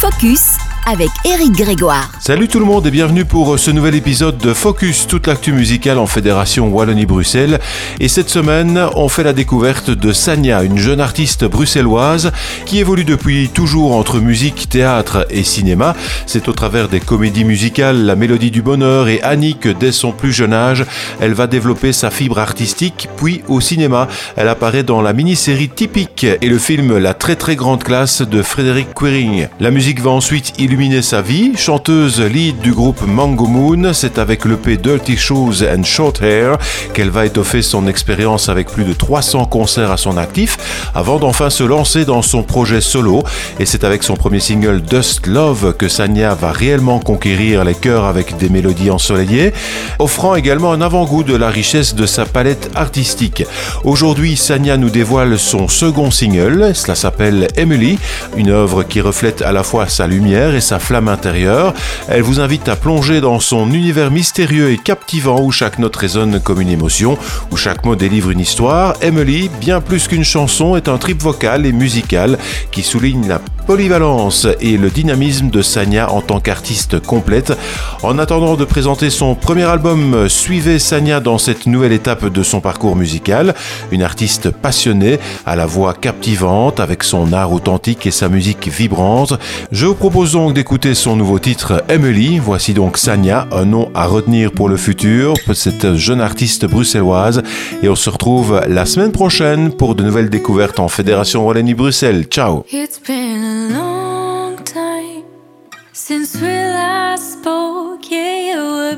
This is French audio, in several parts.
Focus avec Éric Grégoire. Salut tout le monde et bienvenue pour ce nouvel épisode de Focus, toute l'actu musicale en Fédération Wallonie-Bruxelles. Et cette semaine, on fait la découverte de Sania, une jeune artiste bruxelloise qui évolue depuis toujours entre musique, théâtre et cinéma. C'est au travers des comédies musicales La Mélodie du Bonheur et Annie que dès son plus jeune âge, elle va développer sa fibre artistique. Puis au cinéma, elle apparaît dans la mini-série Typique et le film La très très grande classe de Frédéric Quering. La musique va ensuite illuminer sa vie. Chanteuse lead du groupe Mango Moon, c'est avec l'EP Dirty Shoes and Short Hair qu'elle va étoffer son expérience avec plus de 300 concerts à son actif avant d'enfin se lancer dans son projet solo. Et c'est avec son premier single Dust Love que Sania va réellement conquérir les cœurs avec des mélodies ensoleillées, offrant également un avant-goût de la richesse de sa palette artistique. Aujourd'hui, Sania nous dévoile son second single, cela s'appelle Emily, une œuvre qui reflète à la fois sa lumière et sa flamme intérieure. Elle vous invite à plonger dans son univers mystérieux et captivant où chaque note résonne comme une émotion, où chaque mot délivre une histoire. Emily, bien plus qu'une chanson, est un trip vocal et musical qui souligne la polyvalence et le dynamisme de Sania en tant qu'artiste complète. En attendant de présenter son premier album, suivez Sania dans cette nouvelle étape de son parcours musical. Une artiste passionnée, à la voix captivante, avec son art authentique et sa musique vibrante. Je vous propose donc d'écouter son nouveau titre Emily. Voici donc Sania, un nom à retenir pour le futur, pour cette jeune artiste bruxelloise. Et on se retrouve la semaine prochaine pour de nouvelles découvertes en Fédération Wallonie-Bruxelles. Ciao! It's been a long time since we last spoke. Yeah, you were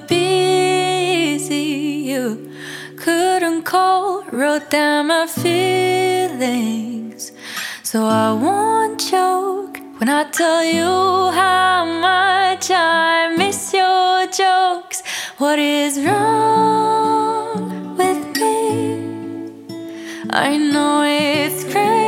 busy. You couldn't call, wrote down my feelings. So I won't joke when I tell you how much I miss your jokes. What is wrong with me? I know it's crazy.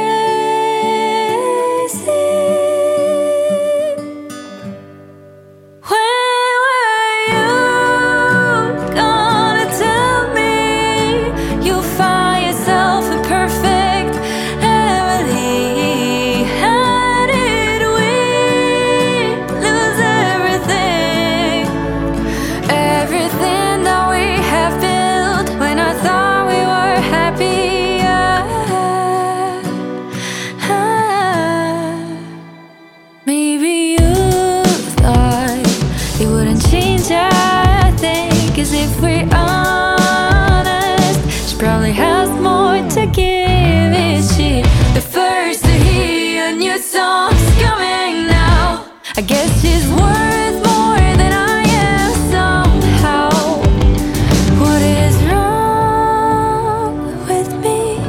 If we're honest, she probably has more to give. Is she the first to hear new songs coming now? I guess she's worth more than I am somehow. What is wrong with me?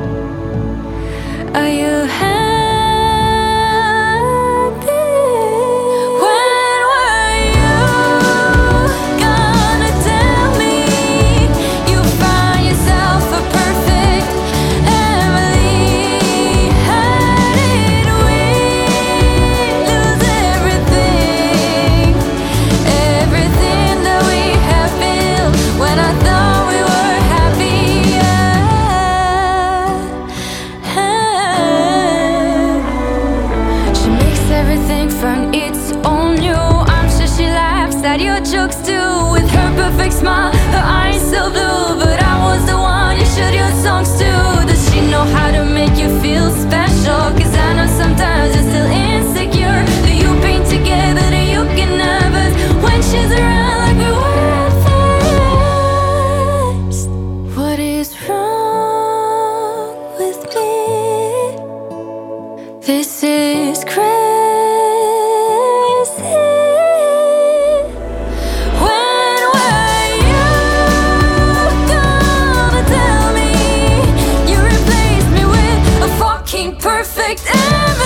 Are you happy? Everything from its own new. I'm sure she laughs at your jokes too. With her perfect smile, her eyes so blue. But I was the one you showed your songs to. Does she know how to make you feel special? Cause I know sometimes you're still insecure. Do you paint together? Do you get nervous when she's around like we were at first? What is wrong with me? This is crazy. Perfect.